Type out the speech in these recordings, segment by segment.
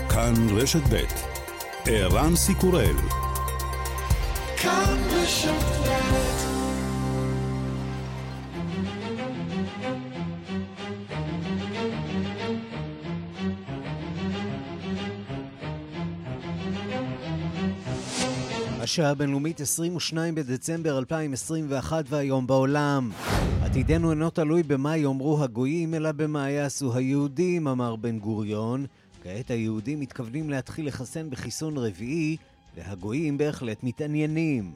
כאן רשת ב' ערן סיקורל. כאן רשת ב'. השעה הבינלאומית 22 בדצמבר 2021 והיום בעולם. עתידנו אינו תלוי במה יאמרו הגויים אלא במה יעשו היהודים, אמר בן גוריון. כעת היהודים מתכוונים להתחיל לחסן בחיסון רביעי והגויים בהחלט מתעניינים.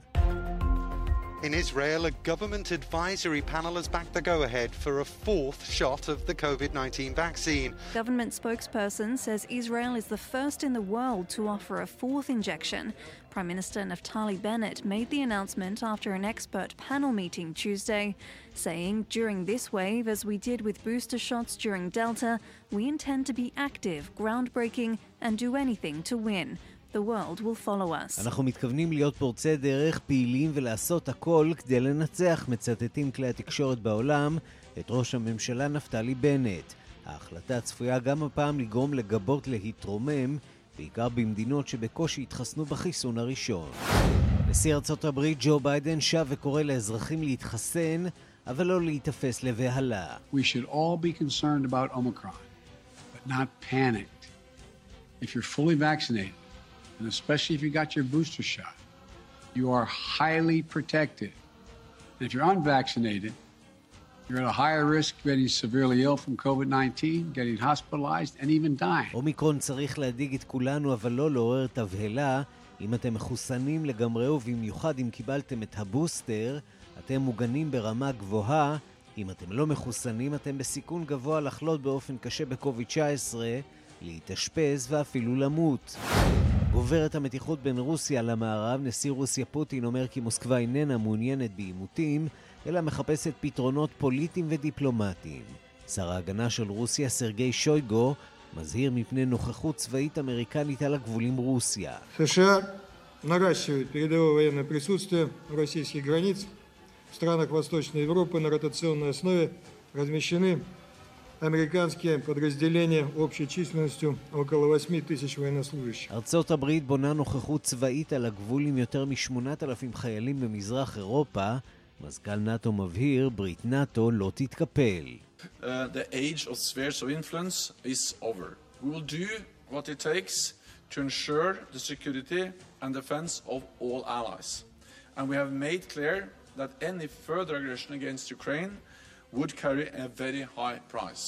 In Israel, a government advisory panel has backed the go-ahead for a fourth shot of the COVID-19 vaccine. Government spokesperson says Israel is the first in the world to offer a fourth injection. Prime Minister Naftali Bennett made the announcement after an expert panel meeting Tuesday, saying, during this wave, as we did with booster shots during Delta, we intend to be active, groundbreaking, and do anything to win. The world will follow us. אנחנו מתכוונים להיות פורצי דרך, פעילים ולעשות הכל כדי לנצח, מצטטים כלי התקשורת בעולם את ראש הממשלה נפתלי בנט. ההחלטה צפויה גם הפעם לגרום לגבות להתרומם, בעיקר במדינות שבקושי התחסנו בחיסון הראשון. נשיא ארצות הברית ג'ו ביידן שב וקורא לאזרחים להתחסן, אבל לא להתאפס לבהלה. We should all be concerned about Omicron, but not panicked. If you're fully vaccinated, and especially if you got your booster shot, you are highly protected. And if you're unvaccinated, you're at a higher risk of getting severely ill from COVID-19, getting hospitalized, and even dying. אומיקרון צריך להדאיג את כולנו, אבל לא לעורר תבהלה. אם אתם מחוסנים לגמרי ובמיוחד אם קיבלתם את הבוסטר, אתם מוגנים ברמה גבוהה. אם אתם לא מחוסנים, אתם בסיכון גבוה לחלות באופן קשה בקוביד-19, להתאשפז ואפילו למות. גוברת המתיחות בין רוסיה למערב. נשיא רוסיה פוטין אומר כי מוסקבה איננה מעוניינת בעימותים, אלא מחפשת פתרונות פוליטיים ודיפלומטיים. שר ההגנה של רוסיה סרגי שויגו מזהיר מפני נוכחות צבאית אמריקנית על הגבול עם רוסיה. США наращивают передовое военное присутствие у российских границ. В странах Восточной Европы на ротационной основе размещены американские подразделения общей численностью около 8,000 военнослужащих. ארצות הברית בונה נוכחות צבאית על הגבול עם יותר מ-8,000 חיילים במזרח אירופה. מזכ"ל נאטו מבהיר, ברית נאטו לא תתקפל. The age of spheres of influence is over. We will do what it takes to ensure the security and defense of all allies. And we have made clear that any further aggression against Ukraine would carry a very high price.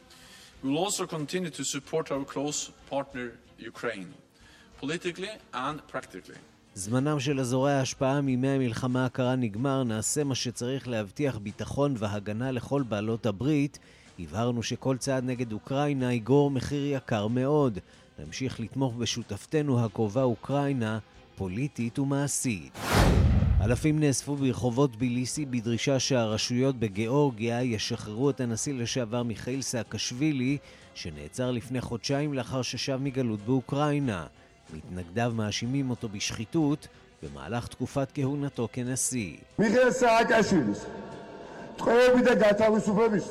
We will also continue to support our close partner Ukraine, politically and practically. זמנם של אזורי ההשפעה מימי המלחמה הקרה נגמר. נעשה מה שצריך להבטיח ביטחון והגנה לכל בעלות הברית. הבהרנו שכל צעד נגד אוקראינה יגור מחיר יקר מאוד. נמשיך לתמוך בשותפתנו הקרובה אוקראינה, פוליטית ומעשית. אלפים נאספו ברחובות ביליסי בדרישה שהרשויות בגיאורגיה ישחררו את הנשיא לשעבר מיכאיל סאקשווילי, שנעצר לפני חודשיים לאחר ששב מגלות באוקראינה. מתנגדיו מאשימים אותו בשחיתות במהלך תקופת כהונתו כנשיא. מיכאיל סאקשווילי, תחויבי და გათავისუფლების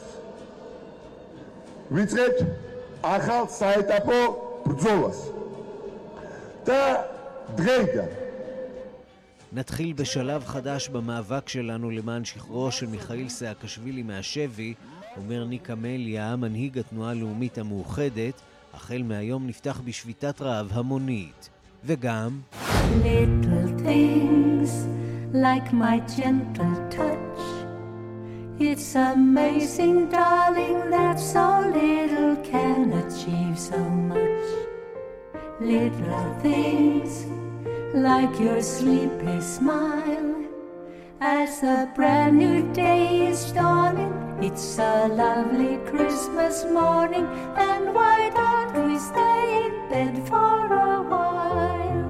ვიწყებთ ახალ საეტაპო ბრძოლას და დღეიდან נתחיל בשלב חדש במאבק שלנו למען שחרורו של מיכאיל סאקשווילי מהשבי, אומר ניק אמליה, מנהיג התנועה הלאומית המאוחדת. החל מהיום נפתח בשביתת רעב המונית. וגם Little things like my gentle touch. It's amazing, darling, that so little can achieve so much. Little things like your sleepy smile as a brand new day is dawning. It's a lovely Christmas morning, and why don't we stay in bed for a while?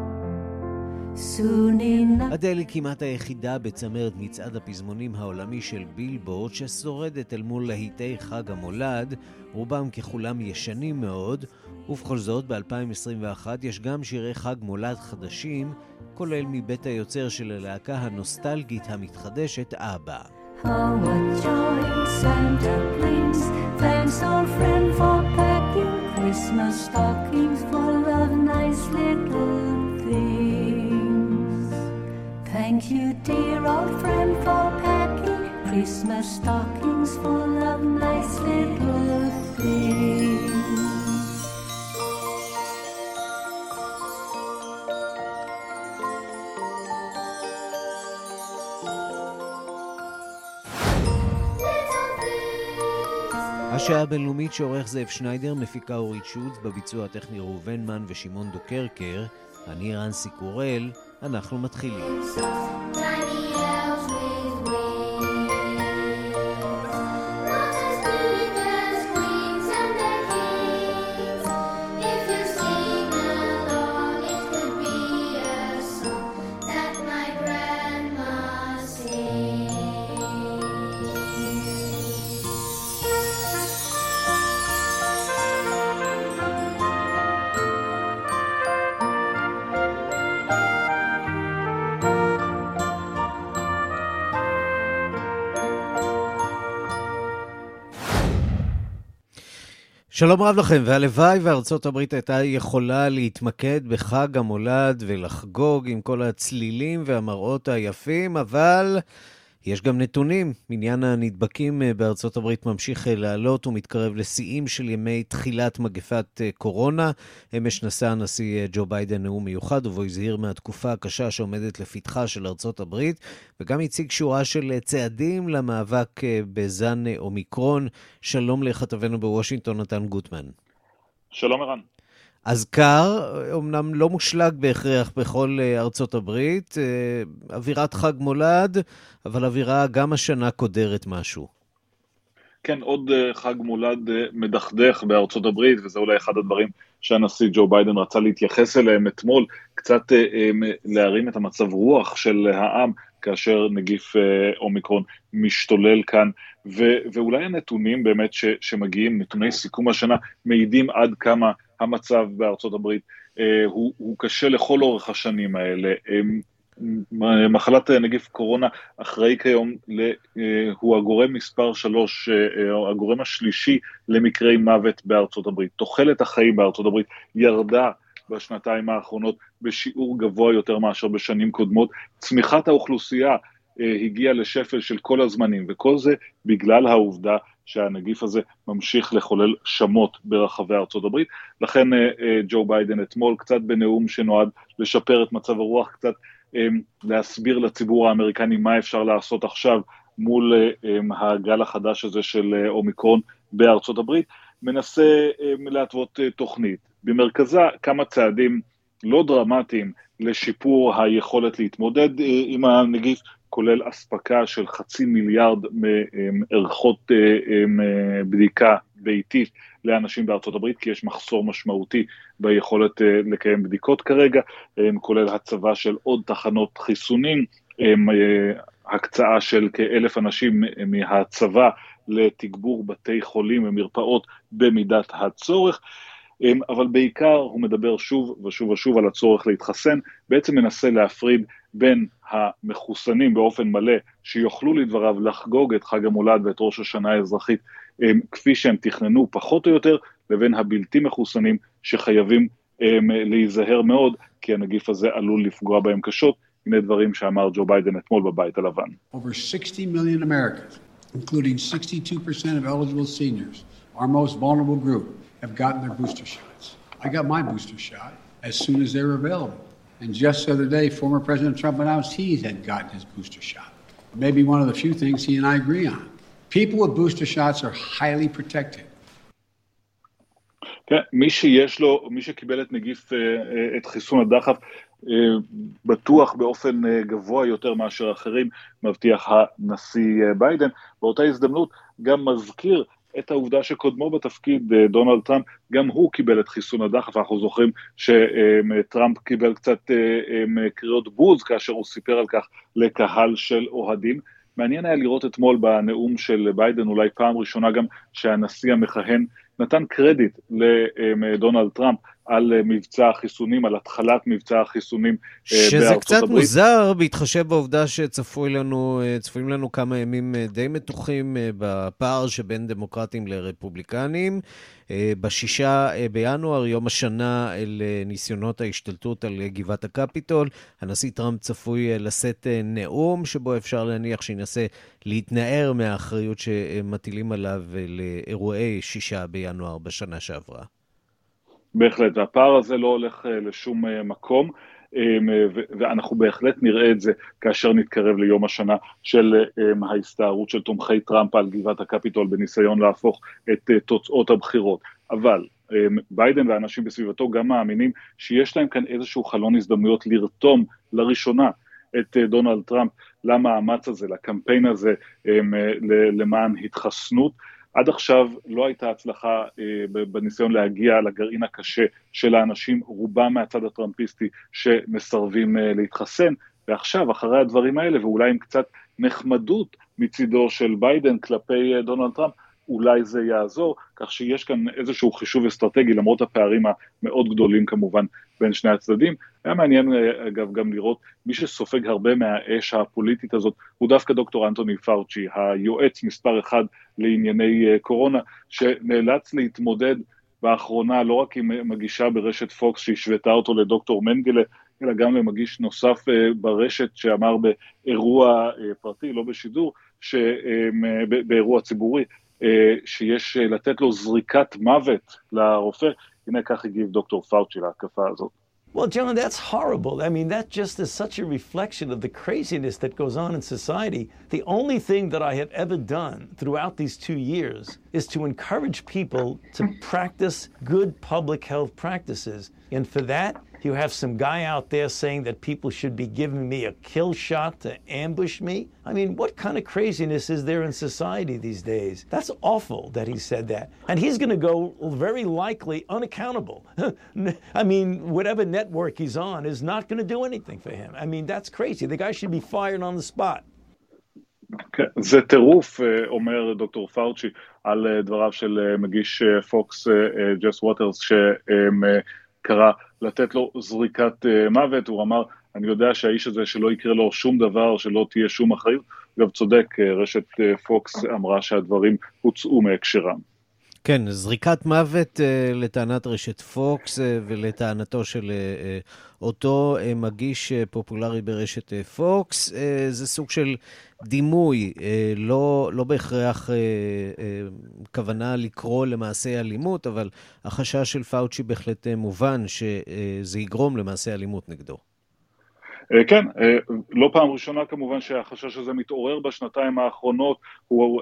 Soon enough. אדל היא כמעט היחידה בצמרת מצעד הפזמונים העולמי של בילבורד ששורדת אל מול להיטי חג המולד, רובם ככולם ישנים מאוד, ובכל זאת ב-2021 יש גם שירי חג מולד חדשים, כולל מבית היוצר של הלהקה הנוסטלגית המתחדשת אבא. Oh, what joy Santa brings. Thanks, old friend, for packing Christmas stockings for dear old friend for packing Christmas stockings full of nice little things. השעה הבינלאומית שעורך זאב שניידר, מפיקה אורית שולץ, בביצוע הטכני ראובן מן ושמעון דוקרקר. אני רנסי קורל, אנחנו מתחילים. שלום רב לכם, והלוואי וארצות הברית הייתה יכולה להתמקד בחג המולד ולחגוג עם כל הצלילים והמראות היפים, אבל יש גם נתונים. עניין הנדבקים בארצות הברית ממשיך לעלות ומתקרב לשיאים של ימי תחילת מגפת קורונה. אמש נשא הנשיא ג'ו ביידן נאום מיוחד, ובו הזהיר מהתקופה הקשה שעומדת לפתחה של ארצות הברית, וגם הציג שורה של צעדים למאבק בזן אומיקרון. שלום לכתבנו בוושינגטון, נתן גוטמן. שלום ערן. אז קר, אמנם לא מושלג בהכרח בכל ארצות הברית, אווירת חג מולד, אבל אווירה גם השנה קודרת משהו. כן, עוד חג מולד מדכדך בארצות הברית, וזה אולי אחד הדברים שהנשיא ג'ו ביידן רצה להתייחס אליהם אתמול, קצת להרים את המצב רוח של העם, כאשר נגיף אומיקרון משתולל כאן, ואולי הנתונים באמת שמגיעים, נתוני סיכום השנה, מעידים עד כמה המצב בארצות הברית הוא קשה לכל אורך השנים האלה. מחלת נגיף קורונה אחראי כיום, הוא הגורם מספר 3, הגורם השלישי למקרי מוות בארצות הברית. תוחלת החיים בארצות הברית ירדה בשנתיים האחרונות בשיעור גבוה יותר מאשר בשנים קודמות. צמיחת האוכלוסייה הגיעה לשפל של כל הזמנים, וכל זה בגלל העובדה שהנגיף הזה ממשיך לחולל שמות ברחבי ארצות הברית. לכן ג'ו ביידן אתמול, קצת בנאום שנועד לשפר את מצב הרוח, קצת להסביר לציבור האמריקני מה אפשר לעשות עכשיו מול הגל החדש הזה של אומיקרון בארצות הברית, מנסה להתוות תוכנית. במרכזה כמה צעדים לא דרמטיים לשיפור היכולת להתמודד עם הנגיף, כולל אספקה של 500 מיליארד מערכות בדיקה ביתית לאנשים בארצות הברית, כי יש מחסור משמעותי ביכולת לקיים בדיקות כרגע, כולל הצבה של עוד תחנות חיסונים, הקצאה של כ1,000 אנשים מהצבא לתגבור בתי חולים ומרפאות במידת הצורך, אבל בעיקר הוא מדבר שוב ושוב ושוב על הצורך להתחסן, בעצם מנסה להפריד בין המחוסנים באופן מלא, שיוכלו לדבריו לחגוג את חג המולד ואת ראש השנה האזרחית, כפי שהם תכננו פחות או יותר, לבין הבלתי מחוסנים שחייבים להיזהר מאוד, כי הנגיף הזה עלול לפגוע בהם קשות. הנה דברים שאמר ג'ו ביידן אתמול בבית הלבן. Over 60 million Americans, including 62% of eligible seniors, our most vulnerable group, have gotten their booster shots. I got my booster shot as soon as they were available. And just the other day, former President Trump announced he had gotten his booster shot. Maybe one of the few things he and I agree on. People with booster shots are highly protected. כן, מי שקיבל את חיסון הדחף, בטוח באופן גבוה יותר מאשר אחרים, מבטיח הנשיא ביידן. באותה הזדמנות גם מזכיר את העובדה שקודמו בתפקיד, דונלד טראמפ, גם הוא קיבל את חיסון הדחף. אנחנו זוכרים שטראמפ קיבל קצת קריאות בוז כאשר הוא סיפר על כך לקהל של אוהדים. מעניין היה לראות אתמול בנאום של ביידן, אולי פעם ראשונה גם שהנשיא המכהן נתן קרדיט לדונלד טראמפ על מבצע החיסונים, על התחלת מבצע החיסונים בארצות הברית. שזה קצת מוזר, בהתחשב בעובדה שצפויים לנו כמה ימים די מתוחים בפער שבין דמוקרטים לרפובליקנים. ב6 בינואר, יום השנה אל ניסיונות ההשתלטות על גבעת הקפיטול, הנשיא טראמפ צפוי לשאת נאום שבו אפשר להניח שינסה להתנער מהאחריות שמטילים עליו לאירועי 6 בינואר בשנה שעברה. בהחלט, והפער הזה לא הולך לשום מקום, ואנחנו בהחלט נראה את זה כאשר נתקרב ליום השנה של ההסתערות של תומכי טראמפ על גבעת הקפיטול בניסיון להפוך את תוצאות הבחירות. אבל ביידן והאנשים בסביבתו גם מאמינים שיש להם כאן איזשהו חלון הזדמנויות לרתום לראשונה את דונלד טראמפ למאמץ הזה, לקמפיין הזה למען התחסנות. עד עכשיו לא הייתה הצלחה בניסיון להגיע לגרעין הקשה של האנשים, רובם מהצד הטראמפיסטי שמסרבים להתחסן, ועכשיו אחרי הדברים האלה ואולי עם קצת נחמדות מצידו של ביידן כלפי דונלד טראמפ, אולי זה יעזור, כך שיש כאן איזשהו חישוב אסטרטגי, למרות הפערים המאוד גדולים כמובן בין שני הצדדים. היה מעניין אגב גם לראות, מי שסופג הרבה מהאש הפוליטית הזאת, הוא דווקא דוקטור אנטוני פאוצ'י, היועץ מספר 1 לענייני קורונה, שנאלץ להתמודד באחרונה לא רק עם מגישה ברשת פוקס שהשוותה אותו לדוקטור מנגלה, אלא גם למגיש נוסף ברשת שאמר באירוע פרטי, לא בשידור, באירוע ציבורי, שיש לתת לו זריקת מוות לרופא. הנה כך הגיב דוקטור פאוצ'י להתקפה הזאת. Well, John, that's horrible. I mean, that just is such a reflection of the craziness that goes on in society. The only thing that I have ever done throughout these 2 years is to encourage people to practice good public health practices. And for that, you have some guy out there saying that people should be giving me a kill shot to ambush me. I mean, what kind of craziness is there in society these days? That's awful that he said that. And he's going to go very likely unaccountable. I mean, whatever network he's on is not going to do anything for him. I mean, that's crazy. The guy should be fired on the spot. זה טירוף, אומר דוקטור פאוצ'י, על דבריו של מגיש פוקס ג'ס ווטרס, שקרא לתת לו זריקת מוות. הוא אמר, אני יודע שהאיש הזה שלא יקרה לו שום דבר, שלא תהיה שום אחריות. גם צודק, רשת פוקס אמרה שהדברים הוצאו מהקשרם. כן, זריקת מוות לטענת רשת פוקס ולטענתו של אותו מגיש פופולרי ברשת פוקס, זה סוג של דימוי, לא בהכרח כוונה לקרוא למעשה אלימות, אבל החשש של פאוצ'י בהחלט מובן שזה יגרום למעשה אלימות נגדו. כן, לא פעם ראשונה כמובן שהחשש הזה מתעורר בשנתיים האחרונות, הוא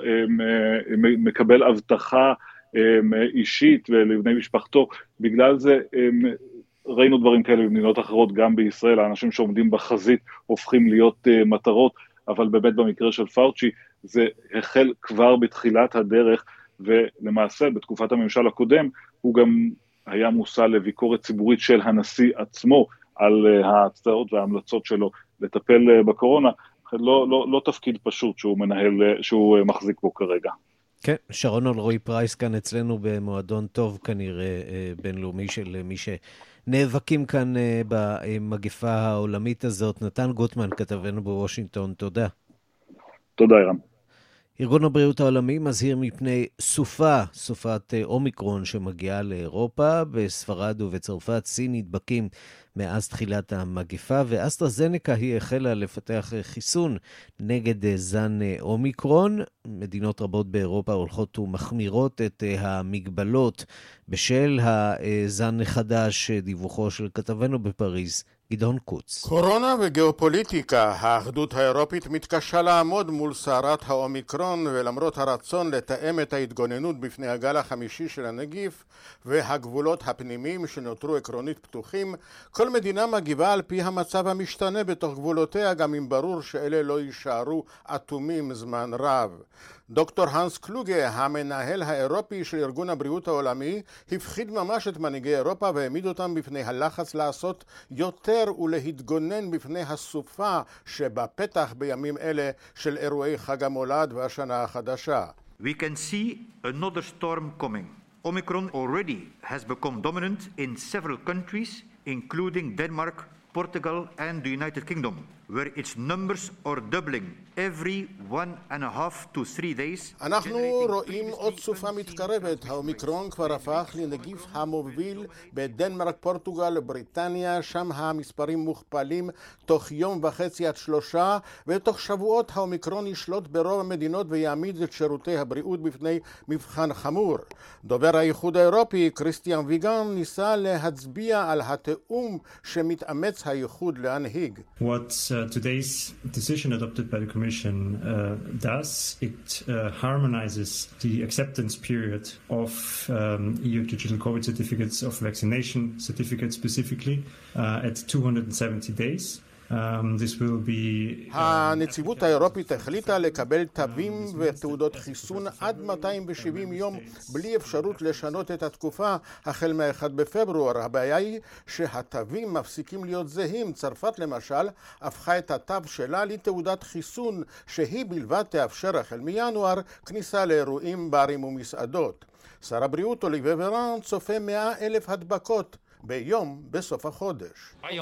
מקבל הבטחה אישית ולבני משפחתו. בגלל זה ראינו דברים כאלה במדינות אחרות, גם בישראל, האנשים שעומדים בחזית הופכים להיות מטרות, אבל באמת במקרה של פאוצ'י זה החל כבר בתחילת הדרך, ולמעשה בתקופת הממשל הקודם הוא גם היה מושא לביקורת ציבורית של הנשיא עצמו על ההצעות וההמלצות שלו לטפל בקורונה. לא תפקיד פשוט שהוא מחזיק בו כרגע. כן, שרון אלרועי פרייס כאן אצלנו במועדון טוב כנראה בינלאומי של מי שנאבקים כאן במגפה העולמית הזאת. נתן גוטמן, כתבנו בוושינגטון, תודה. תודה, אירן. ארגון הבריאות העולמי מזהיר מפני סופת אומיקרון שמגיעה לאירופה. בספרד ובצרפת סין נדבקים מאז תחילת המגפה, ואסטרזנקה היא החלה לפתח חיסון נגד זן אומיקרון. מדינות רבות באירופה הולכות ומחמירות את המגבלות בשל הזן החדש, דיווחו של כתבנו בפריז, גדעון קוץ. קורונה וגיאופוליטיקה, האחדות האירופית מתקשה לעמוד מול סערת האומיקרון, ולמרות הרצון לתאם את ההתגוננות בפני הגל החמישי של הנגיף והגבולות הפנימיים שנותרו עקרונית פתוחים, כל מדינה מגיבה על פי המצב המשתנה בתוך גבולותיה, גם אם ברור שאלה לא יישארו אטומים זמן רב. דוקטור הנס קלוגה, המנהל האירופי של ארגון הבריאות העולמי, הפחיד ממש את מנהיגי אירופה והעמיד אותם בפני הלחץ לעשות יותר ולהתגונן בפני הסופה שבפתח בימים אלה של אירועי חג המולד והשנה החדשה. We can see another storm coming. Omicron already has become dominant in several countries, including Denmark, Portugal and the United Kingdom, where its numbers are doubling every 1.5 to 3 days. אנחנו רואים עוד סופה מתקרבת. האומיקרון כבר הפך לנגיף המוביל בדנמרק, פורטוגל, בריטניה. שם המספרים מוכפלים תוך יום וחצי עד 3, ותוך שבועות האומיקרון ישלוט ברוב המדינות ויעמיד את שירותי הבריאות בפני מבחן חמור. דובר האיחוד האירופי קריסטיאן ויגן ניסה להצביע על התאום שמתאמץ האיחוד להנהיג. Today's decision adopted by the Commission does, it harmonizes the acceptance period of EU digital COVID certificates, of vaccination certificates specifically, at 270 days. This will be... הנציבות האירופית החליטה לקבל תווים ותעודות חיסון עד 270 יום בלי אפשרות לשנות את התקופה החל מ-1 בפברואר. הבעיה היא שהתווים מפסיקים להיות זהים. צרפת למשל הפכה את התו שלה לתעודת חיסון שהיא בלבד תאפשר החל מינואר כניסה לאירועים, ברים ומסעדות. שר הבריאות אוליביה ורן צופה 100,000 הדבקות ביום בסוף החודש.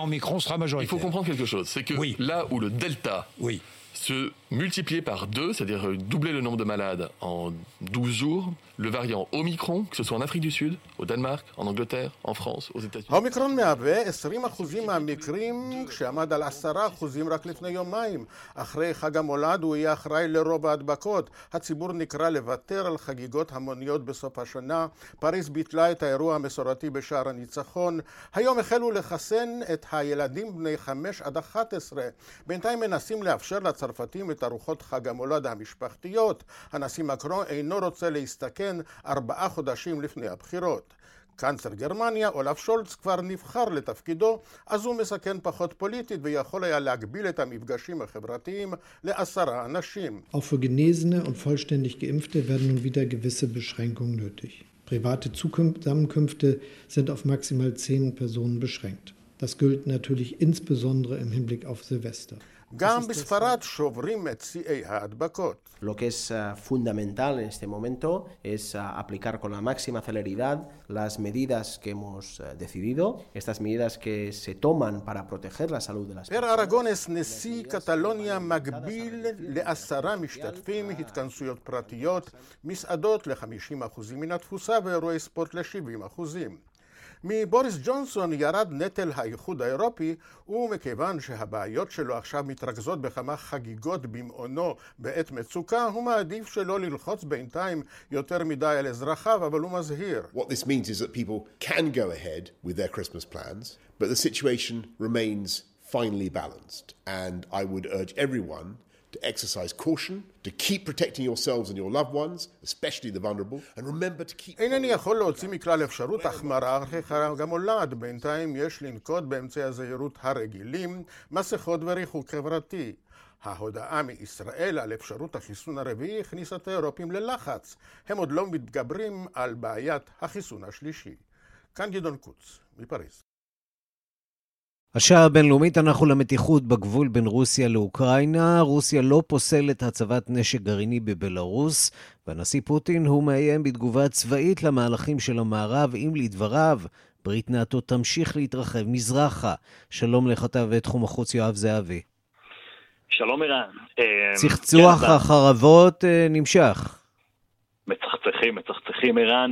Il faut comprendre quelque chose, c'est que là où le delta se multipliait par 2, c'est-à-dire doubler le nombre de malades en 12 jours, le variant Omicron, que ce soit en Afrique du Sud, au Danemark, en Angleterre, en France, aux États-Unis. האומיקרון מהווה 20% מהמקרים, כשעמד על 10% רק לפני יומיים. אחרי חג המולד הוא יהיה אחראי לרוב ההדבקות. הציבור נקרא לוותר על חגיגות המוניות בסוף השנה. פריז ביטלה את האירוע המסורתי בשער הניצחון. היום החלו לחסן את הילדים בני 5 עד 11. בינתיים מנסים לאפשר לצרפתים את ארוחות חג המולד המשפחתיות. הנשיא מקרון אינו רוצה להסתכן 4 חודשים לפני הבחירות. קנצלר גרמניה אולף שולץ כבר נבחר לתפקידו, אז הוא מסכן פחות פוליטית ויכול היה להגביל את המפגשים החברתיים ל10 אנשים. Auch für Genesene und vollständig Geimpfte werden nun wieder gewisse Beschränkungen nötig. Private Zusammenkünfte sind auf maximal 10 Personen beschränkt. Das gilt natürlich insbesondere im Hinblick auf Silvester. גם בספרד שוברים את שיאי ההדבקות. Lo que es fundamental en este momento es aplicar con la máxima celeridad las medidas que hemos decidido, estas medidas que se toman para proteger la salud de las personas. פר ארגונס, נשיא קטלוניה, מגביל ל10 משתתפים, התכנסויות פרטיות, מסעדות ל50% מן התפוסה ואירועי ספורט ל70%. מבוריס ג'ונסון ירד נטל האיחוד האירופי, ומכיוון שהבעיות שלו עכשיו מתרכזות בכמה חגיגות במעונו בעת מצוקה, הוא מעדיף שלא ללחוץ בינתיים יותר מדי על אזרחיו, אבל הוא מזהיר. What this means is that people can go ahead with their Christmas plans, but the situation remains finely balanced. And I would urge everyone to exercise caution, to keep protecting yourselves and your loved ones, especially the vulnerable, and remember to keep... אינני יכול להוציא מכלל אפשרות החמרה אחרי חג המולד. בינתיים יש לנקוט באמצעי הזהירות הרגילים, מסכות וריחוק חברתי. ההודעה מישראל על אפשרות החיסון הרביעי הכניסה את האירופים ללחץ. הם עוד לא מתגברים על בעיית החיסון השלישי. כאן גדעון קוץ, מפריז. השעה הבינלאומית, אנחנו למתיחות בגבול בין רוסיה לאוקראינה. רוסיה לא פוסלת הצבת נשק גרעיני בבלרוס, והנשיא פוטין הוא מאיים בתגובה צבאית למהלכים של המערב, אם לדבריו ברית נאט"ו תמשיך להתרחב מזרחה. שלום לכתב תחום החוץ יואב זהבי. שלום ערן. צחצוח החרבות נמשך. מצחצחים ערן,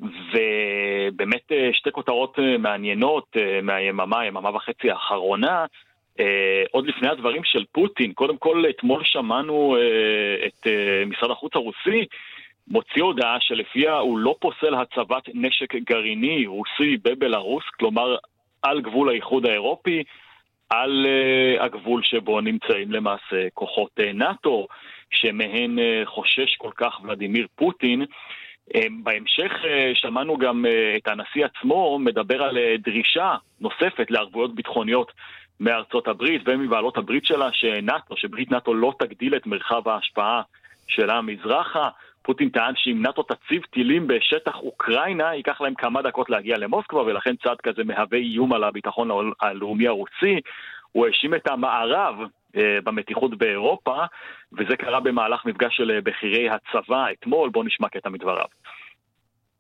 ובאמת שתי כותרות מעניינות מהיממה וחצי האחרונה, עוד לפני הדברים של פוטין. קודם כל, אתמול שמענו את משרד החוץ הרוסי מוציא הודעה שלפיה הוא לא פוסל הצבת נשק גרעיני רוסי בבלרוס, כלומר על גבול האיחוד האירופי, על הגבול שבו נמצאים למעשה כוחות נאט"ו, שמהן חושש כל כך ולדימיר פוטין. בהמשך שמענו גם את הנשיא עצמו מדבר על דרישה נוספת לערבויות ביטחוניות מארצות הברית ומבעלות הברית שלה, שברית נאט"ו לא תגדיל את מרחב ההשפעה שלה מזרחה. פוטין טען שאם נאט"ו תציב טילים בשטח אוקראינה, ייקח להם כמה דקות להגיע למוסקבה, ולכן צעד כזה מהווה איום על הביטחון הלאומי הרוסי. הוא האשים את המערב במתיחות באירופה, וזה קרה במהלך מפגש של בכירי הצבא אתמול. בוא נשמע קטע מדבריו.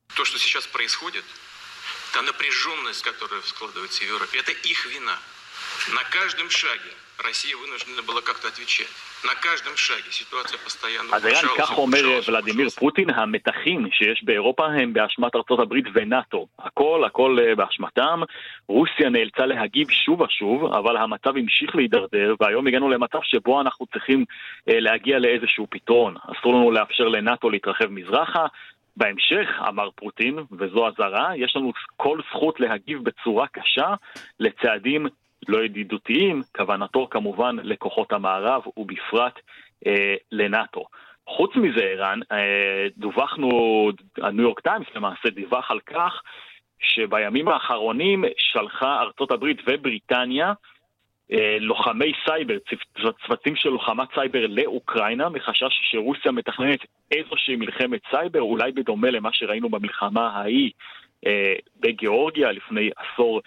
То, что сейчас происходит, та напряженность, которая складывается в Европе, это их вина. На каждом шаге Россия вынуждена была как-то отвечать. На каждом шаге ситуация постоянно אז איראן, כך אומר ולדימיר פוטין, המתחים שיש באירופה הם באשמת ארצות הברית ונאטו. הכל באשמתם. רוסיה נאלצה להגיב שוב ושוב, אבל המצב המשיך להידרדר, והיום הגענו למצב שבו אנחנו צריכים להגיע לאיזשהו פתרון. אסור לנו לאפשר לנאטו להתרחב מזרחה. בהמשך, אמר פוטין, וזו הזרה, יש לנו כל זכות להגיב בצורה קשה לצעדים לא ידידותיים, כוונתו כמובן לכוחות המערב ובפרט לנאטו. חוץ מזה, איראן, דווחנו, הניו יורק טיימס למעשה דיווח על כך שבימים האחרונים שלחה ארצות הברית ובריטניה לוחמי סייבר, צוותים של לוחמת סייבר לאוקראינה, מחשש שרוסיה מתכננת איזושהי מלחמת סייבר, אולי בדומה למה שראינו במלחמה ההיא בגיאורגיה לפני עשור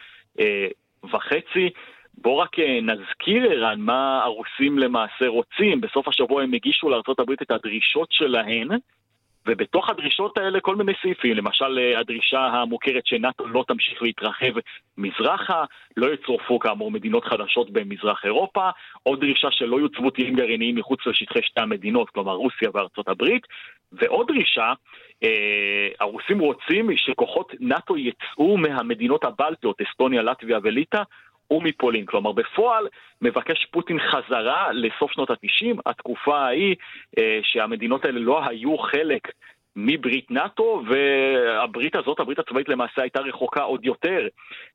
וחצי. בוא רק נזכיר איראן מה הרוסים למעשה רוצים. בסוף השבוע הם הגישו לארצות הברית את הדרישות שלהן, ובתוך הדרישות האלה כל מיני סעיפים, למשל הדרישה המוכרת שנאטו לא תמשיך להתרחב מזרחה, לא יצורפו כאמור מדינות חדשות במזרח אירופה, עוד דרישה שלא יוצבו טילים גרעיניים מחוץ לשטחי שתי המדינות, כלומר רוסיה וארצות הברית, ועוד דרישה, הרוסים רוצים שכוחות נאטו יצאו מהמדינות הבלטיות, אסטוניה, לטביה וליטא, ומפולין. כלומר, בפועל מבקש פוטין חזרה לסוף שנות ה-90, התקופה ההיא שהמדינות האלה לא היו חלק מברית נאטו, והברית הזאת, הברית הצבאית למעשה הייתה רחוקה עוד יותר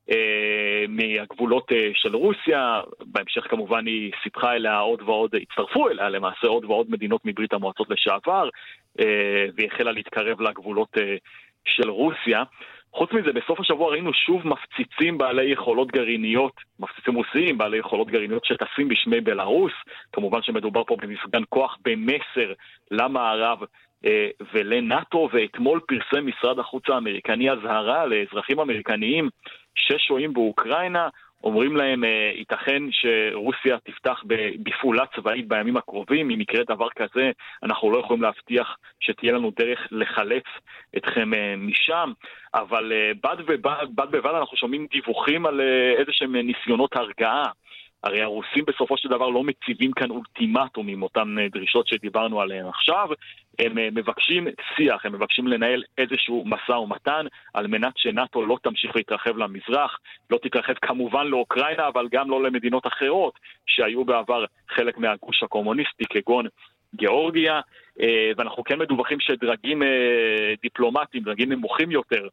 מהגבולות של רוסיה. בהמשך כמובן היא סיפחה אליה עוד ועוד, הצטרפו אליה למעשה עוד ועוד מדינות מברית המועצות לשעבר, והיא החלה להתקרב לגבולות של רוסיה. חוץ מזה, בסוף השבוע ראינו שוב מפציצים בעלי יכולות גרעיניות, מפציצים רוסיים בעלי יכולות גרעיניות שטסים בשמי בלרוס. כמובן שמדובר פה במפגן כוח במסר למערב ולנאטו, ואתמול פרסם משרד החוץ האמריקני הזהרה לאזרחים אמריקניים ששוהים באוקראינה, אומרים להם ייתכן שרוסיה תפתח בפעולה צבאית בימים הקרובים. אם יקרה דבר כזה, אנחנו לא יכולים להבטיח שתהיה לנו דרך לחלץ אתכם משם, אבל בד בבד אנחנו שומעים דיווחים על איזשהם ניסיונות הרגעה. הרי הרוסים בסופו של דבר לא מציבים כאן אולטימטום עם אותן דרישות שדיברנו עליהן עכשיו, הם מבקשים שיח, הם מבקשים לנהל איזשהו מסע ומתן על מנת שנאטו לא תמשיך להתרחב למזרח, לא תתרחב כמובן לאוקראינה, אבל גם לא למדינות אחרות שהיו בעבר חלק מהגוש הקומוניסטי כגון גיאורגיה, ואנחנו כן מדווחים שדרגים דיפלומטיים, דרגים נמוכים יותר,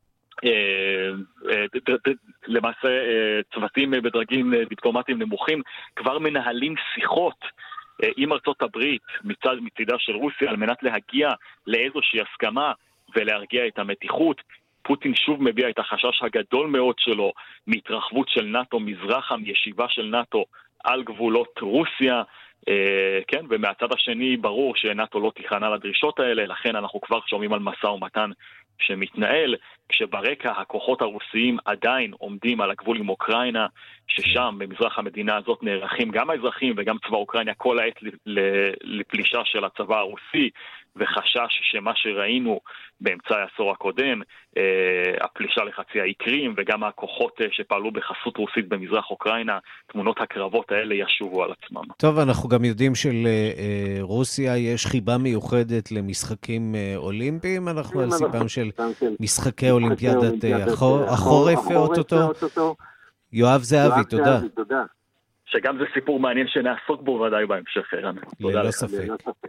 למעשה צוותים בדרגים דיפלומטיים נמוכים כבר מנהלים שיחות עם ארצות הברית מצידה של רוסיה על מנת להגיע לאיזושהי הסכמה ולהרגיע את המתיחות. פוטין שוב מביע את החשש הגדול מאוד שלו מהתרחבות של נאטו מזרחה, מישיבה של נאטו על גבולות רוסיה, כן, ומהצד השני ברור שנאטו לא תיכנע לדרישות האלה, לכן אנחנו כבר שומעים על מסע ומתן שמתנהל, כשברקע הכוחות הרוסיים עדיין עומדים על הגבול עם אוקראינה, ששם במזרח המדינה הזאת נערכים גם האזרחים וגם צבא אוקראינה כל העת לפלישה של הצבא הרוסי, וחשש שמה שראינו באמצע העשור הקודם, הפלישה לחצי האי קרים וגם הכוחות שפעלו בחסות רוסית במזרח אוקראינה, תמונות הקרבות האלה ישובו על עצמם. טוב, אנחנו גם יודעים שלרוסיה יש חיבה מיוחדת למשחקים אולימפיים, אנחנו על סיפם של משחקי אולימפיאדת החורף ואוטוטו. יואב זהבי, תודה. שגם זה סיפור מעניין שנעסוק בו ודאי בהמשך, ערן. ללא ספק.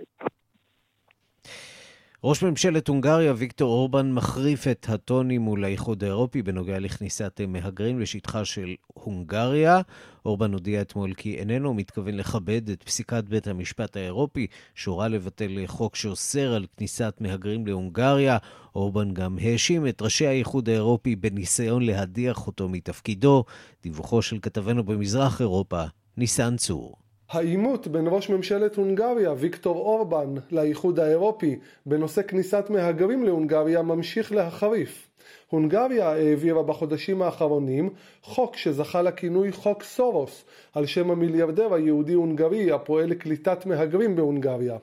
ראש ממשלת הונגריה ויקטור אורבן מחריף את הטונים מול האיחוד האירופי בנוגע לכניסת מהגרים לשטחה של הונגריה. אורבן הודיע אתמול כי איננו מתכוון לכבד את פסיקת בית המשפט האירופי שהורה לבטל חוק שאוסר על כניסת מהגרים להונגריה. אורבן גם האשים את ראשי האיחוד האירופי בניסיון להדיח אותו מתפקידו. דיווחו של כתבנו במזרח אירופה, ניסן צור. העימות בין ראש ממשלת הונגריה ויקטור אורבן לאיחוד האירופי בנושא כניסת מהגרים להונגריה ממשיך להחריף. הונגריה העבירה בחודשים האחרונים חוק שזכה לכינוי חוק סורוס, על שם המיליארדר היהודי הונגרי הפועל לקליטת מהגרים בהונגריה.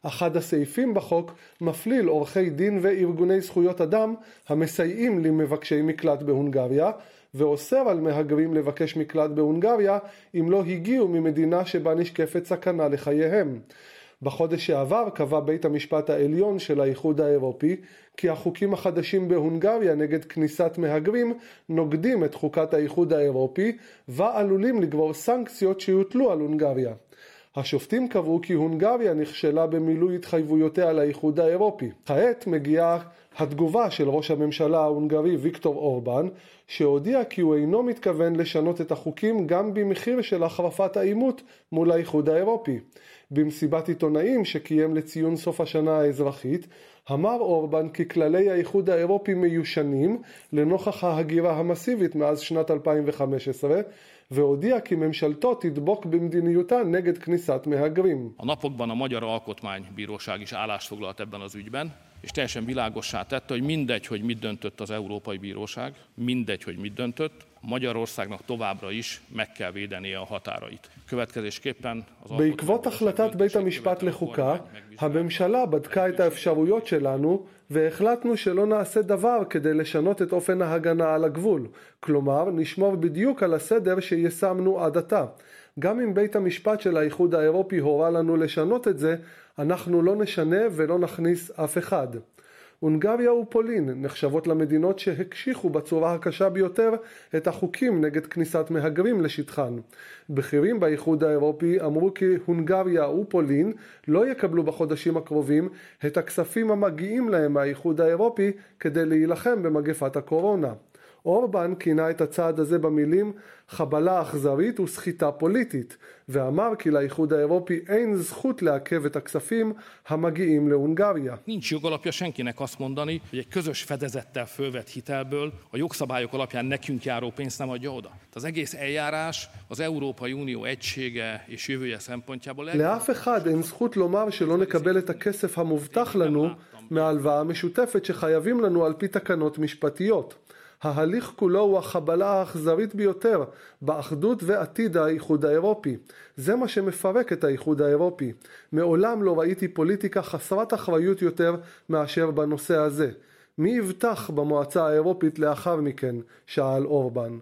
אחד הסעיפים בחוק מפליל עורכי דין וארגוני זכויות אדם המסייעים למבקשי מקלט בהונגריה, ואוסר על מהגרים לבקש מקלט בהונגריה אם לא הגיעו ממדינה שבה נשקפת סכנה לחייהם. בחודש שעבר קבע בית המשפט העליון של האיחוד האירופי כי החוקים החדשים בהונגריה נגד כניסת מהגרים נוגדים את חוקת האיחוד האירופי ועלולים לגבור סנקציות שיוטלו על הונגריה. השופטים קבעו כי הונגריה נכשלה במילוי התחייבויותיה לאיחוד האירופי. כעת מגיעה התגובה של ראש הממשלה ההונגרי ויקטור אורבן, שהודיע כי הוא אינו מתכוון לשנות את החוקים גם במחיר של החרפת העימות מול האיחוד האירופי. במסיבת עיתונאים שקיים לציון סוף השנה האזרחית, אמר אורבן כי כללי האיחוד האירופי מיושנים לנוכח ההגירה המסיבית מאז שנת 2015, והודיע כי ממשלתו תדבוק במדיניותה neged kniszat מהגרים. A napokban a Magyar Alkotmánybíróság is állást foglalt ebben az ügyben, és teljesen világossá tette, hogy mindegy, hogy mit döntött az Európai Bíróság, mindegy, hogy mit döntött, Magyarországnak továbbra is meg kell védenie a határait. Következésképpen az בעקבות החלטת בית המשפט לחוקה, הממשלה בדקה את האפשרויות שלנו והחלטנו שלא נעשה דבר כדי לשנות את אופן ההגנה על הגבול. כלומר, נשמור בדיוק על הסדר שיישמנו עד עתה. גם אם בית המשפט של האיחוד האירופי הורה לנו לשנות את זה, אנחנו לא נשנה ולא נכניס אף אחד. הונגריה ופולין נחשבות למדינות שהקשיחו בצורה הקשה ביותר את החוקים נגד כניסת מהגרים לשטחן. בכירים באיחוד האירופי אמרו כי הונגריה ופולין לא יקבלו בחודשים הקרובים את הכספים המגיעים להם מהאיחוד האירופי כדי להילחם במגפת הקורונה. אורבן כינה את הצעד הזה במילים חבלה אכזרית וסחיטה פוליטית, ואמר כי לאיחוד האירופי אין זכות לעכב את הכספים המגיעים להונגריה. Nincs jogalapja senkinek azt mondani, hogy egy közös fedezettel fölvett hitelből a jogszabályok alapján nekünk járó pénzt nem adja oda. Az egész eljárás az Európai Unió egysége és jövője szempontjából... לאף אחד אין זכות לומר שלא נקבל את הכסף המובטח לנו מהלוואה המשותפת שחייבים לנו על פי תקנות משפטיות. ההליך כולו הוא החבלה האכזרית ביותר באחדות ועתיד האיחוד האירופי. זה מה שמפרק את האיחוד האירופי. מעולם לא ראיתי פוליטיקה חסרת אחריות יותר מאשר בנושא הזה. מי יבטח במועצה האירופית לאחר מכן? שאל אורבן.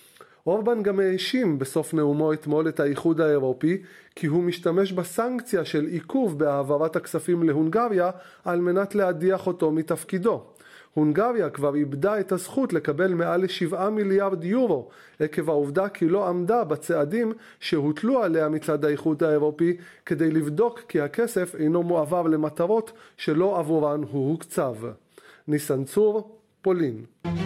אורבן גם האשים בסוף נאומו אתמול את האיחוד האירופי כי הוא משתמש בסנקציה של עיכוב בהעברת הכספים להונגריה על מנת להדיח אותו מתפקידו. הונגריה כבר איבדה את הזכות לקבל מעל 7 מיליארד יורו עקב העובדה כי לא עמדה בצעדים שהוטלו עליה מצד האיחוד האירופי כדי לבדוק כי הכסף אינו מועבר למטרות שלא עבורן הוא הוקצב. ניסן צור, פולין.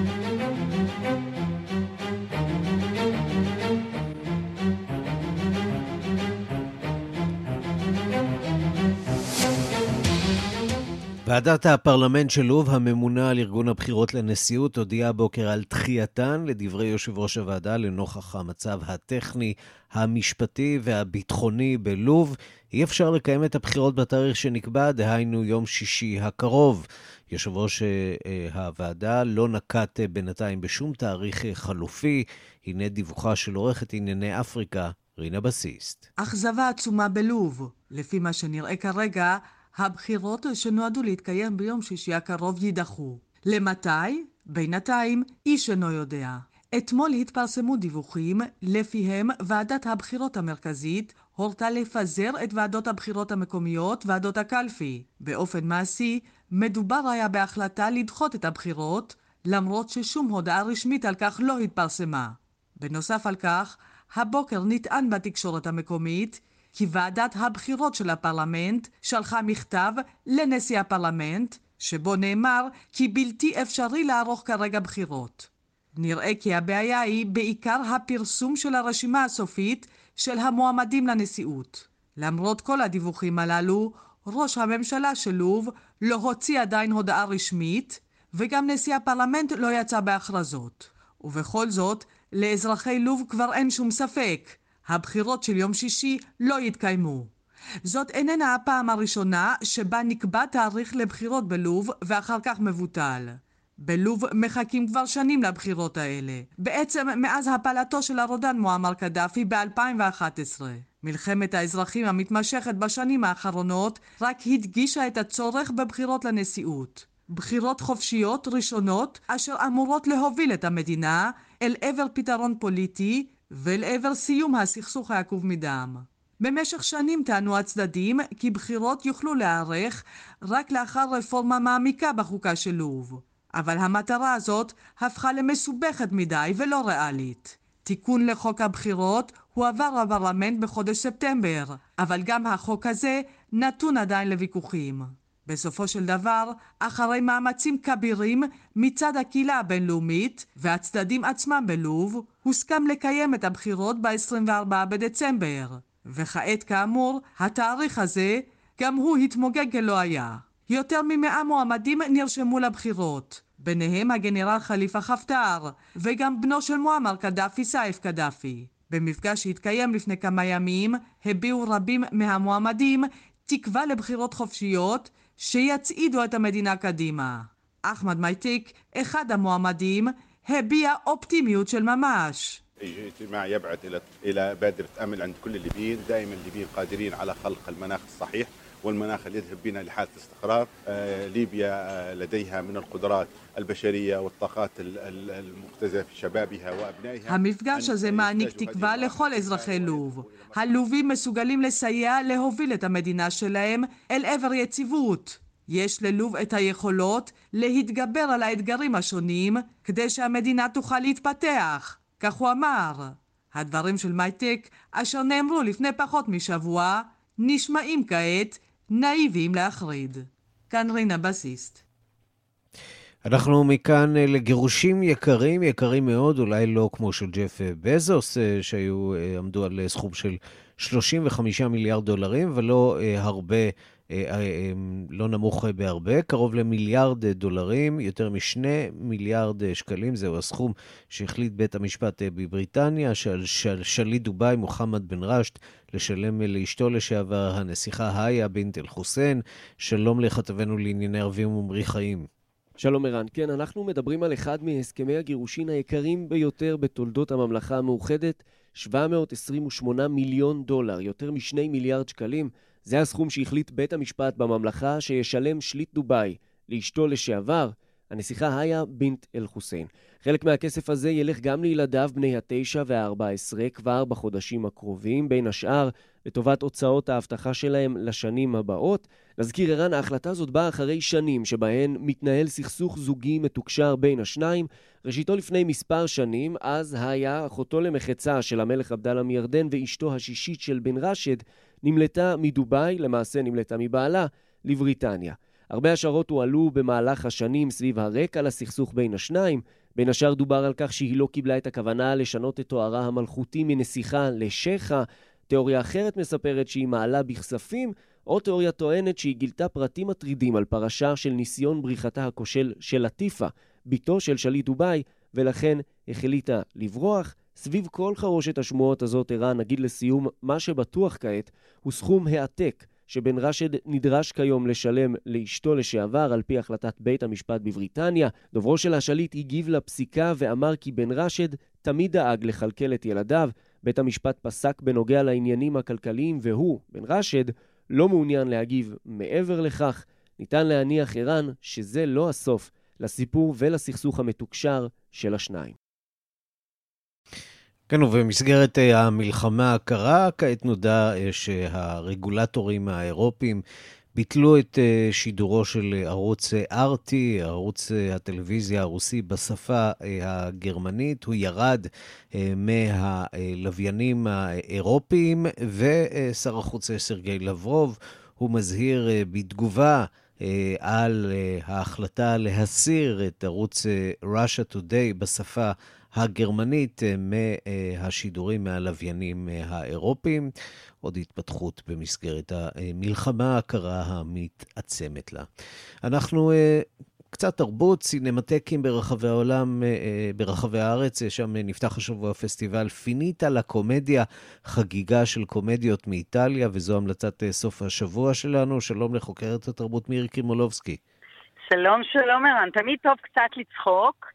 ועדת הפרלמנט של לוב, הממונה על ארגון הבחירות לנשיאות, הודיעה בוקר על דחייתן לדברי יושב ראש הוועדה לנוכח המצב הטכני, המשפטי והביטחוני בלוב. אי אפשר לקיים את הבחירות בתאריך שנקבע, דהיינו יום שישי הקרוב. יושב ראש הוועדה לא נקט בינתיים בשום תאריך חלופי. הנה דיווחה של עורכת ענייני אפריקה, רינה בסיסט. אכזבה עצומה בלוב. לפי מה שנראה כרגע, הבחירות שנועדו להתקיים ביום שישי הקרוב יידחו. למתי? בינתיים איש אינו יודע. אתמול התפרסמו דיווחים לפיהם ועדת הבחירות המרכזית הורתה לפזר את ועדות הבחירות המקומיות, ועדות הקלפי. באופן מעשי, מדובר היה בהחלטה לדחות את הבחירות, למרות ששום הודעה רשמית על כך לא התפרסמה. בנוסף על כך, הבוקר נטען בתקשורת המקומית כי ועדת הבחירות של הפרלמנט שלחה מכתב לנשיא הפרלמנט, שבו נאמר כי בלתי אפשרי לערוך כרגע בחירות. נראה כי הבעיה היא בעיקר הפרסום של הרשימה הסופית של המועמדים לנשיאות. למרות כל הדיווחים הללו, ראש הממשלה של לוב לא הוציא עדיין הודעה רשמית, וגם נשיא הפרלמנט לא יצא בהכרזות. ובכל זאת, לאזרחי לוב כבר אין שום ספק. הבחירות של יום שישי לא יתקיימו. זאת איננה הפעם הראשונה שבה נקבע תאריך לבחירות בלוב ואחר כך מבוטל. בלוב מחכים כבר שנים לבחירות האלה. בעצם מאז הפלתו של הרודן מועמר קדאפי ב-2011. מלחמת האזרחים המתמשכת בשנים האחרונות רק הדגישה את הצורך בבחירות לנשיאות. בחירות חופשיות ראשונות אשר אמורות להוביל את המדינה אל עבר פתרון פוליטי ולעבר סיום הסכסוך העקוב מדם. במשך שנים טענו הצדדים כי בחירות יוכלו להיערך רק לאחר רפורמה מעמיקה בחוקה של לוב. אבל המטרה הזאת הפכה למסובכת מדי ולא ריאלית. תיקון לחוק הבחירות הועבר בפרלמנט בחודש ספטמבר, אבל גם החוק הזה נתון עדיין לוויכוחים. בסופו של דבר, אחרי מאמצים כבירים מצד הקהילה הבינלאומית והצדדים עצמם בלוב, הוסכם לקיים את הבחירות ב-24 בדצמבר. וכעת כאמור, התאריך הזה גם הוא התמוגג כלא היה. יותר מ100 מועמדים נרשמו לבחירות, ביניהם הגנרל חליפה חפטר, וגם בנו של מועמר קדאפי סייף קדאפי. במפגש שהתקיים לפני כמה ימים, הביעו רבים מהמועמדים תקווה לבחירות חופשיות שיצעידו את המדינה קדימה. אחמד מייטיק, אחד המועמדים, הביע אופטימיות של ממש. اجتماع يبعث إلى بادرة أمل عند كل الليبيين. دائما الليبيين قادرين على خلق المناخ الصحيح والمناخ اللي يذهب بنا لحالة استقرار. ليبيا لديها من القدرات البشرية والطاقات المختزلة في شبابها وأبنائها. המפגש הזה מעניק תקווה לכל אזרחי לוב. הלובים מסוגלים לסייע להוביל את המדינה שלהם אל עבר יציבות. יש ללוב את היכולות להתגבר על האתגרים השונים כדי שהמדינה תוכל להתפתח. כך הוא אמר. הדברים של מייטק, אשר נאמרו לפני פחות משבוע, נשמעים כעת נאיביים להחריד. כאן רינה בסיסט. אנחנו מכאן לגירושים יקרים מאוד, אולי לא כמו של ג'ף בזוס, שעמדו על סכום של 35 מיליארד דולרים, ולא הרבה, לא נמוך בהרבה, קרוב למיליארד דולרים, יותר מ2 מיליארד שקלים, זהו הסכום שהחליט בית המשפט בבריטניה, של שליט דובאי מוחמד בן רשד, לשלם לאשתו לשעבר הנסיכה היה בינט אל חוסיין. שלום לכתבנו לענייני ערבים ומרי חיים. שלום ערן, כן, אנחנו מדברים על אחד מהסכמי הגירושין היקרים ביותר בתולדות הממלכה המאוחדת, 728 מיליון דולר, יותר מ2 מיליארד שקלים. זה הסכום שהחליט בית המשפט בממלכה שישלם שליט דובאי לאשתו לשעבר, הנסיכה היה בינט אל חוסיין. חלק מהכסף הזה ילך גם לילדיו בני 9 ו-14 כבר בחודשים הקרובים, בין השאר לטובת הוצאות ההבטחה שלהם לשנים הבאות. נזכיר ערן, ההחלטה הזאת באה אחרי שנים שבהן מתנהל סכסוך זוגי מתוקשר בין השניים. ראשיתו לפני מספר שנים, אז היה אחותו למחצה של המלך עבדאללה מירדן ואשתו השישית של בן רשד, נמלטה מדובאי, למעשה נמלטה מבעלה, לבריטניה. הרבה השערות הועלו במהלך השנים סביב הרקע לסכסוך בין השניים. בין השאר דובר על כך שהיא לא קיבלה את הכוונה לשנות את תוארה המלכותי מנסיכה לשייחה. תיאוריה אחרת מספרת שהיא מעלה בכספים, או תיאוריה טוענת שהיא גילתה פרטים מטרידים על פרשה של ניסיון בריחתה הכושל של לטיפה, ביתו של שליט דובאי, ולכן החליטה לברוח. סביב כל חרושת השמועות הזאת, ערן, נגיד לסיום, מה שבטוח כעת הוא סכום העתק שבן רשד נדרש כיום לשלם לאשתו לשעבר על פי החלטת בית המשפט בבריטניה. דוברו של השליט הגיב לפסיקה ואמר כי בן רשד תמיד דאג לכלכל את ילדיו. בית המשפט פסק בנוגע לעניינים הכלכליים והוא, בן רשד, לא מעוניין להגיב מעבר לכך. ניתן להניח, ערן, שזה לא הסוף לסיפור ולסכסוך המתוקשר של השניים. כן, ובמסגרת המלחמה הקרה, כעת נודע שהרגולטורים האירופיים ביטלו את שידורו של ערוץ RT, ערוץ הטלוויזיה הרוסי בשפה הגרמנית. הוא ירד מהלוויינים האירופיים, ושר החוץ סרגי לברוב הוא מזהיר בתגובה על ההחלטה להסיר את ערוץ Russia Today בשפה הגרמנית מהשידורים מהלוויינים האירופיים. עוד התפתחות במסגרת המלחמה הקרה המתעצמת לה. אנחנו קצת תרבות, סינמטקים ברחבי העולם, ברחבי הארץ. שם נפתח השבוע פסטיבל פיניטה לקומדיה, חגיגה של קומדיות מאיטליה, וזו המלצת סוף השבוע שלנו. שלום לחוקרת התרבות מירי קרימולובסקי. שלום, שלום ערן. תמיד טוב קצת לצחוק.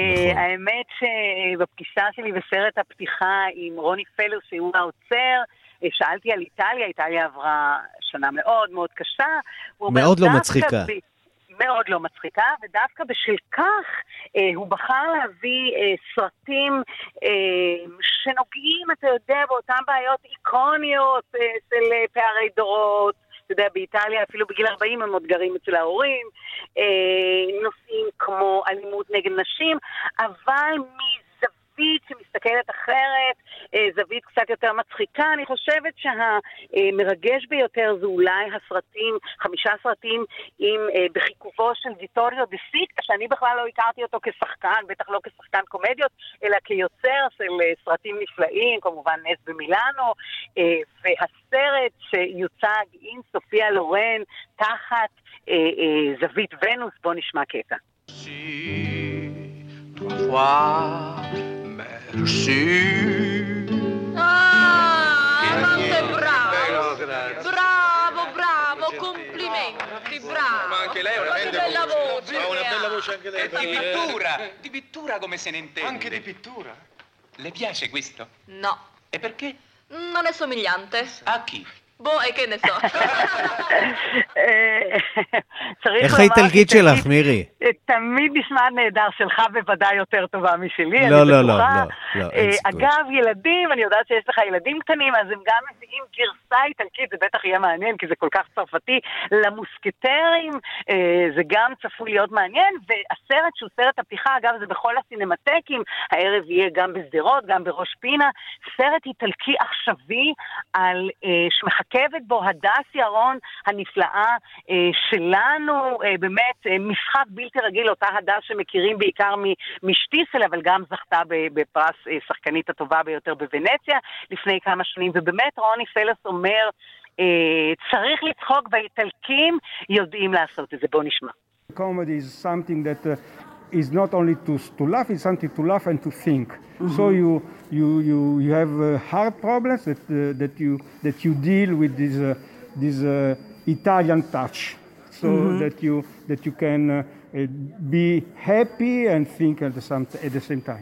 האמת שבפגישה שלי בסרט הפתיחה עם רוני פלר, שהוא האוצר, שאלתי על איטליה, איטליה עברה שנה מאוד מאוד קשה. מאוד לא מצחיקה. מאוד לא מצחיקה, ודווקא בשל כך הוא בחר להביא סרטים שנוגעים, אתה יודע, באותן בעיות איקוניות של פערי דורות. אתה יודע, באיטליה אפילו בגיל 40 הם עוד גרים אצל ההורים, נושאים כמו אלימות נגד נשים, אבל זווית שמסתכלת אחרת, זווית קצת יותר מצחיקה. אני חושבת שהמרגש ביותר זה אולי הסרטים, 5 סרטים בחיכובו של ויטוריו דה סיטה, שאני בכלל לא הכרתי אותו כשחקן, בטח לא כשחקן קומדיות, אלא כיוצר של סרטים נפלאים, כמובן נס במילאנו, והסרט שיוצג עם סופיה לורן תחת זווית ונוס. בוא נשמע קטע. Merci. Ah, quanto è bravo! Bravo, bravo, complimenti, bravo! Ma anche lei ha una bella voce! Ha una bella voce anche lei. Di pittura come se ne intende? Anche di pittura? Le piace questo? No. E perché? Non è somigliante. A chi? בוא, כן נסו. איך האיטלקית שלך, מירי? תמיד נשמע נהדר, שלך בוודאי יותר טובה משלי. לא, לא, לא. אגב, ילדים, אני יודעת שיש לך ילדים קטנים, אז הם גם מביאים גרסה איטלקית, זה בטח יהיה מעניין, כי זה כל כך צרפתי. למוסקטרים, זה גם צפוי להיות מעניין, והסרט שהוא סרט הפתיחה, אגב, זה בכל הסינמטקים, הערב יהיה גם בסדרות, גם בראש פינה, סרט איטלקי עכשווי על שמחכבת בו הדס ירון הנפלאה שלנו, באמת משחק בלתי רגיל, אותה הדס שמכירים בעיקר משטיסל, אבל גם זכתה בפרס שחקנית הטובה ביותר בוונציה לפני כמה שנים, ובאמת רוני פלס אומר, צריך לצחוק, והאיטלקים יודעים לעשות את זה. בוא נשמע. Comedy is something that is not only to laugh, it's something to laugh and to think. Mm-hmm. So you have hard problems that you deal with this Italian touch, so mm-hmm. that you can be happy and think at the same time.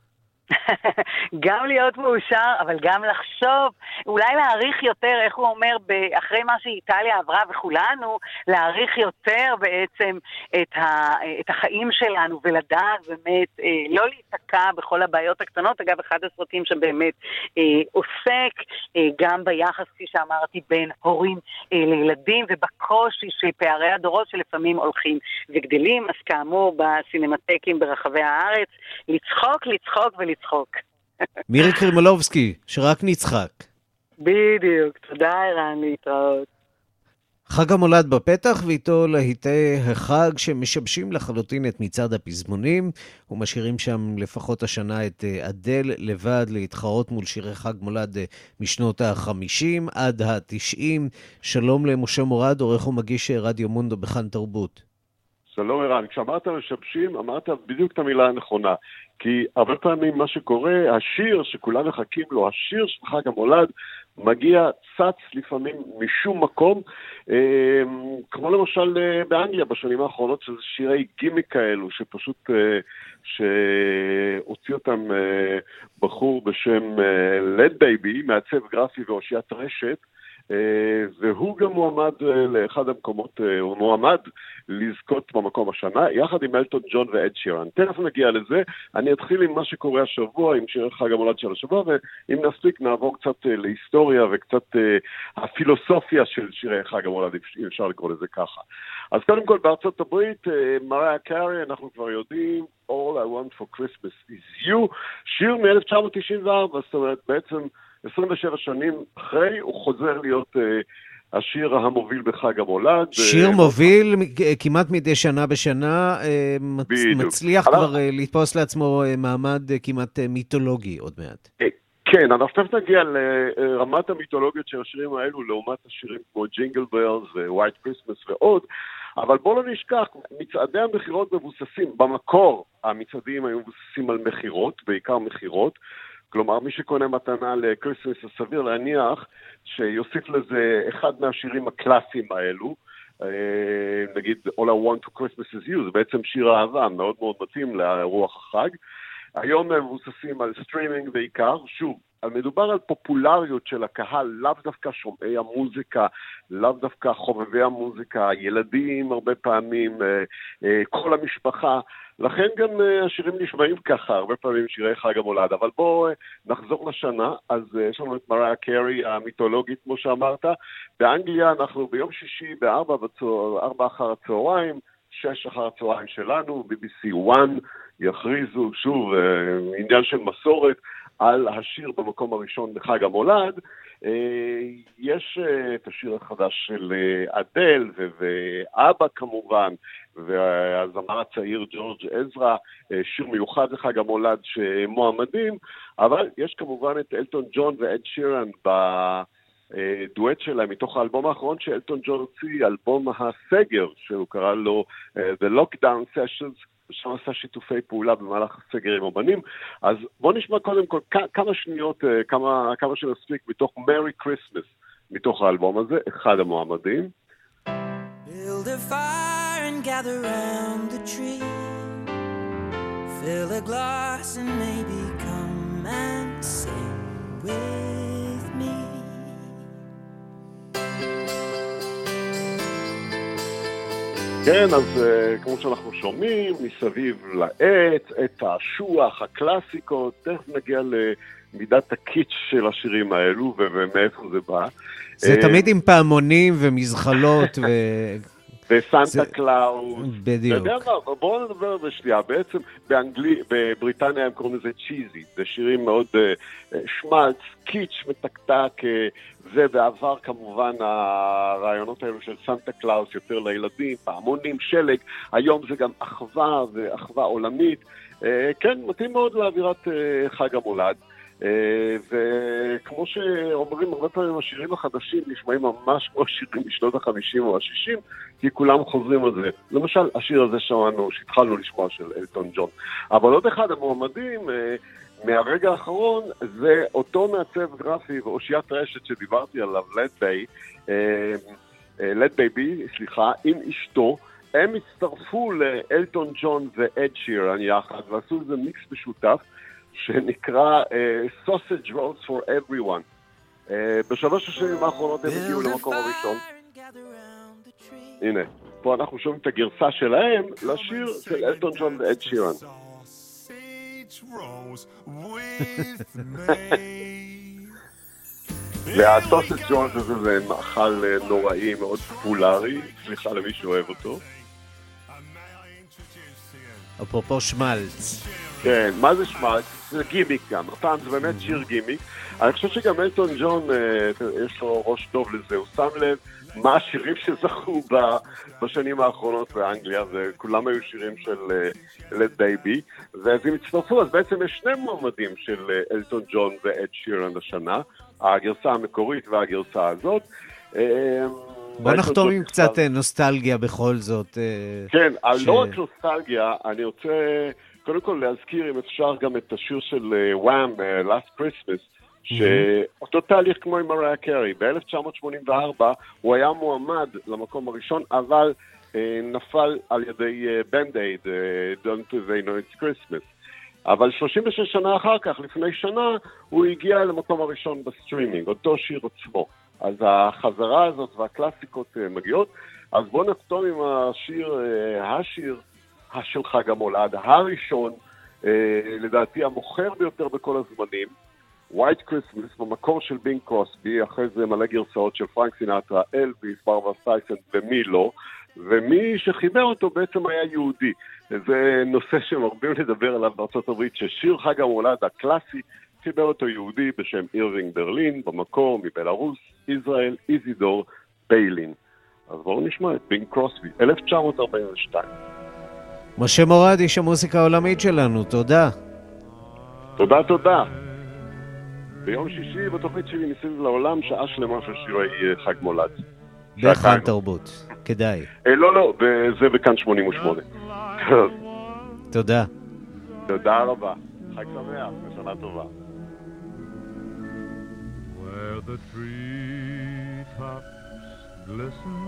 גם להיות מאושר, אבל גם לחשוב, אולי להעריך יותר, איך הוא אומר, אחרי מה שאיטליה עברה וכולנו, להעריך יותר בעצם את החיים שלנו, ולדעת באמת, לא להתקע בכל הבעיות הקטנות. אגב, אחד הסרטים שבאמת עוסק גם ביחס, כפי שאמרתי, בין הורים לילדים, ובקושי של פערי הדורות שלפעמים הולכים וגדלים. אז כאמור, בסינמטקים ברחבי הארץ, לצחוק, לצחוק ולצחוק. מירי קרימולובסקי, שרק נצחק. בדיוק, תודה ערן, להתראות. חג המולד בפתח, ואיתו להיטי החג שמשבשים לחלוטין את מצעד הפזמונים, ומשאירים שם לפחות השנה את אדל לבד להתחרות מול שירי חג מולד משנות ה-50 עד ה-90. שלום למשה מורד, עורך ומגיש רדיו מונדו בכאן תרבות. שלום ערן, כשאמרת משבשים, אמרת בדיוק את המילה הנכונה. כי הרבה פעמים מה שקורה, השיר שכולם מחכים לו, השיר של חג המולד, מגיע צץ לפעמים משום מקום, כמו למשל באנגליה בשנים האחרונות, שזה שירי גימיק כאלו, שפשוט, שהוציא אותם בחור בשם לד בייבי, מעצב גרפי ואושיית רשת, והוא גם מועמד לאחד המקומות, הוא מועמד לזכות במקום השנה, יחד עם אלטון ג'ון ואד שירן. תכף נגיע לזה, אני אתחיל עם מה שקורה השבוע, עם שירי חג המולד של השבוע, ואם נספיק נעבור קצת להיסטוריה וקצת הפילוסופיה של שירי חג המולד, אם אפשר לקרוא לזה ככה. אז קודם כל בארצות הברית, מריה קארי, אנחנו כבר יודעים, All I Want for Christmas is You, שיר מ-1994, זאת אומרת בעצם 27 שנים אחרי, הוא חוזר להיות השיר המוביל בחג המולד. שיר מוביל כמעט מדי שנה בשנה, מצליח כבר לתפוס לעצמו מעמד כמעט מיתולוגי עוד מעט. כן, אנחנו תכף נגיע לרמת המיתולוגיות של השירים האלו, לעומת השירים כמו ג'ינגל בלס ווייט קריסמס ועוד, אבל בואו לא נשכח, מצעדי המחירות מבוססים, במקור המצעדים היו מבוססים על מחירות, בעיקר מחירות, כלומר, מי שקונה מתנה לקריסמס, סביר להניח שיוסיף לזה אחד מהשירים הקלאסיים האלו, נגיד All I Want for Christmas is You, זה בעצם שיר אהבה, מאוד מאוד מתאים לרוח החג. היום הם מבוססים על סטרימינג בעיקר, שוב, מדובר על פופולריות של הקהל, לאו דווקא שומעי המוזיקה, לאו דווקא חובבי המוזיקה, ילדים הרבה פעמים, כל המשפחה, לכן גם השירים נשמעים ככה, הרבה פעמים שירי חג המולד. אבל בואו נחזור לשנה, אז יש לנו את מריה קרי המיתולוגית, כמו שאמרת. באנגליה אנחנו ביום שישי ב-4 אחר הצהריים, 6 אחר הצהריים שלנו, BBC 1 יכריזו שוב עניין של מסורת על השיר במקום הראשון בחג המולד. יש את השיר החדש של אדל ואבא כמובן, והזמר הצעיר ג'ורג' עזרא, שיר מיוחד לחג המולד שמועמדים, אבל יש כמובן את אלטון ג'ון ואד שירן בדואט שלהם מתוך האלבום האחרון שאלטון ג'ון הוציא, אלבום הסגר, שהוא קרא לו The Lockdown Sessions, שם עשה שיתופי פעולה במהלך הסגר עם אומנים. אז בואו נשמע קודם כל כמה שניות, כמה שנספיק מתוך Merry Christmas, מתוך האלבום הזה, אחד המועמדים. Build a fire and gather around the tree, fill a glass and maybe come and sing with me. כן, אז כמו שאנחנו שומעים, מסביב לעץ, את השוח, הקלאסיקות, תכף נגיע למידת הקיץ' של השירים האלו ומאיפה זה בא. זה תמיד עם פעמונים ומזחלות וסנטה קלאוס. בדיוק. בואו נדבר על זה שנייה. בעצם בבריטניה הם קוראים לזה צ'יזי. זה שירים מאוד שמלץ, קיץ' מתקתק, ובעבר כמובן הרעיונות האלו של סנטה קלאוס יותר לילדים, פעמונים, שלג, היום זה גם אחווה ואחווה עולמית. כן, מתאים מאוד לאווירת חג המולד. וכמו שאומרים הרבה פעמים השירים החדשים נשמעים ממש כמו שירים משנות ה-50 או ה-60, כי כולם חוזרים על זה. למשל השיר הזה שמענו, שהתחלנו לשמוע, של אלטון ג'ון. אבל עוד אחד המועמדים מהרגע האחרון זה אותו מעצב גרפי ואושיית רשת שדיברתי עליו, לד בייבי, עם אשתו. הם הצטרפו לאלטון ג'ון ואד שירן יחד ועשו איזה מיקס משותף שנקרא Sausage Rolls for Everyone. בשלוש השנים האחרונות הם הגיעו למקום הראשון. הנה, פה אנחנו שומעים את הגרסה שלהם לשיר של אלטון ג'ון ואד שירן. והסוסג' רולס הזה זה מאכל נוראי מאוד פופולרי, סליחה למי שאוהב אותו. אפרופו שמלץ. כן, מה זה שמלץ? זה גימיק גם, הפעם זה באמת שיר גימיק. אני חושב שגם אלטון ג'ון יש לו ראש טוב לזה, הוא שם לב מה השירים שזכו בשנים האחרונות באנגליה, וכולם היו שירים של לד בייבי, ואז הם הצטרפו, אז בעצם יש שני מועמדים של אלטון ג'ון ואד שירן השנה, הגרסה המקורית והגרסה הזאת. בוא נחתום עם קצת נוסטלגיה בכל זאת. כן, לא רק נוסטלגיה, אני רוצה קודם כל להזכיר אם אפשר גם את השיר של וואם, Last Christmas, שאותו תהליך כמו עם מריה קרי, ב-1984 הוא היה מועמד למקום הראשון, אבל נפל על ידי בנד-אייד, Don't They Know It's Christmas. אבל 36 שנה אחר כך, לפני שנה, הוא הגיע למקום הראשון בסטרימינג, אותו שיר עצמו. אז החזרה הזאת והקלאסיקות מגיעות. אז בואו נחתום עם השיר של חג המולד, הראשון, לדעתי המוכר ביותר בכל הזמנים, White Christmas, במקור של בינג קרוסבי, אחרי זה מלא גרסאות של פרנק סינטרה, אלביס, ברברה סטרייסנד ומי לא, ומי שחיבר אותו בעצם היה יהודי. זה נושא שמרבים לדבר עליו בארצות הברית, ששיר חג המולד הקלאסי חיבר אותו יהודי בשם אירווינג ברלין, במקור מבלרוס, ישראל, איזידור, ביילין. אז בואו נשמע את בינג קרוסבי, 1942. משה מורד, איש המוסיקה העולמית שלנו, תודה. תודה. ביום שישי בתוכנית שלי מסביב לעולם, שעה שלמה של שירי חג מולד. בכאן תרבות, כדאי. לא, זה בכאן 88. תודה. תודה רבה. חג שמח, ושנה טובה. Where the treetops glisten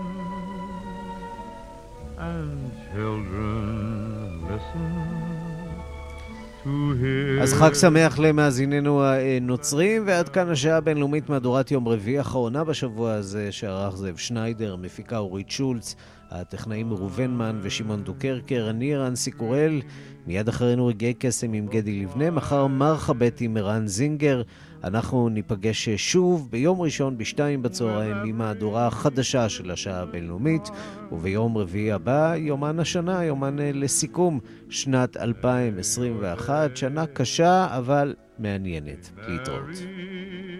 and children listen אז חג שמח למאזיננו הנוצרים, ועד כאן השעה הבינלאומית מהדורת יום רביעי האחרונה בשבוע הזה, שערך זאב שניידר, מפיקה אורית שולץ, הטכנאים ראובן מן ושמעון דוקרקר, אני רנסי קורל, מיד אחרינו רגעי קסם עם גדי לבנה, מחר מרחבת עם ערן זינגר. אנחנו ניפגש שוב ביום ראשון ב14:00 עם מהדורה החדשה של השעה הבינלאומית, וביום רביעי הבא יומן השנה, יומן לסיכום שנת 2021, שנה קשה אבל מעניינת. להתראות.